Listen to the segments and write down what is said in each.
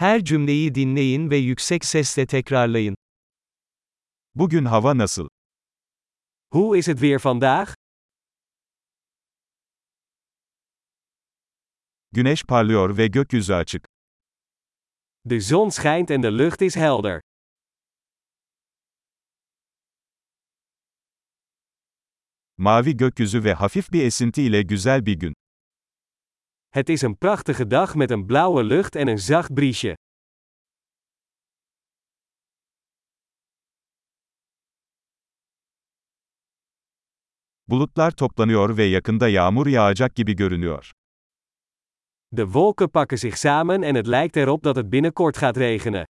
Her cümleyi dinleyin ve yüksek sesle tekrarlayın. Bugün hava nasıl? Hoe is het weer vandaag? Güneş parlıyor ve gökyüzü açık. De zon schijnt en de lucht is helder. Mavi gökyüzü ve hafif bir esinti ile güzel bir gün. Het is een prachtige dag met een blauwe lucht en een zacht briesje. Bulutlar toplanıyor ve yakında yağmur yağacak gibi görünüyor. De wolken pakken zich samen en het lijkt erop dat het binnenkort gaat regenen.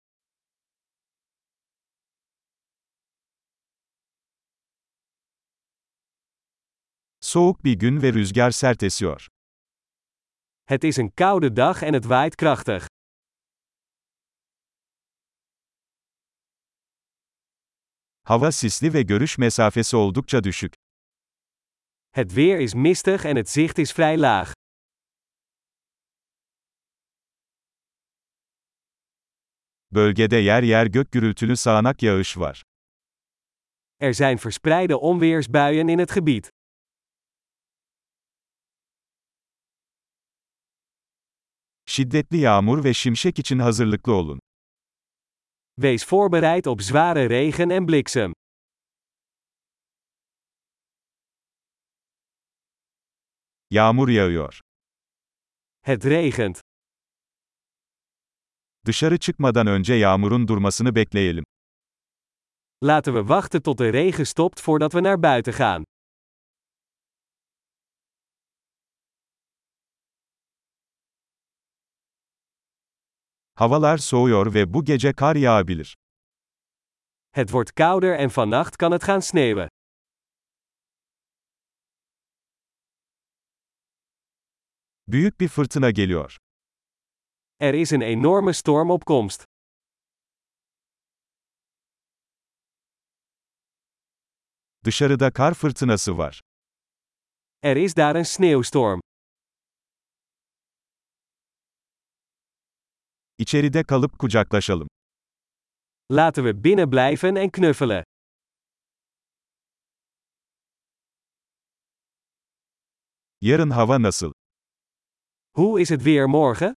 Soğuk bir gün ve rüzgar sert esiyor. Het is een koude dag en het waait krachtig. Hava sisli ve görüş mesafesi oldukça düşük. Het weer is mistig en het zicht is vrij laag. Bölgede yer yer gök gürültülü sağanak yağış var. Er zijn verspreide onweersbuien in het gebied. Şiddetli yağmur ve şimşek için hazırlıklı olun. Wees voorbereid op zware regen en bliksem. Yağmur yağıyor. Het regent. Dışarı çıkmadan önce yağmurun durmasını bekleyelim. Laten we wachten tot de regen stopt voordat we naar buiten gaan. Havalar soğuyor ve bu gece kar yağabilir. Het wordt kouder en vannacht kan het gaan sneeuwen. Büyük bir fırtına geliyor. Er is een enorme storm op komst. Dışarıda kar fırtınası var. Er is daar een sneeuwstorm. İçeride kalıp kucaklaşalım. Laten we binnen blijven en knuffelen. Yarın hava nasıl? Hoe is het weer morgen?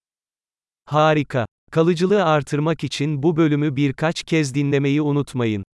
Harika. Kalıcılığı artırmak için bu bölümü birkaç kez dinlemeyi unutmayın.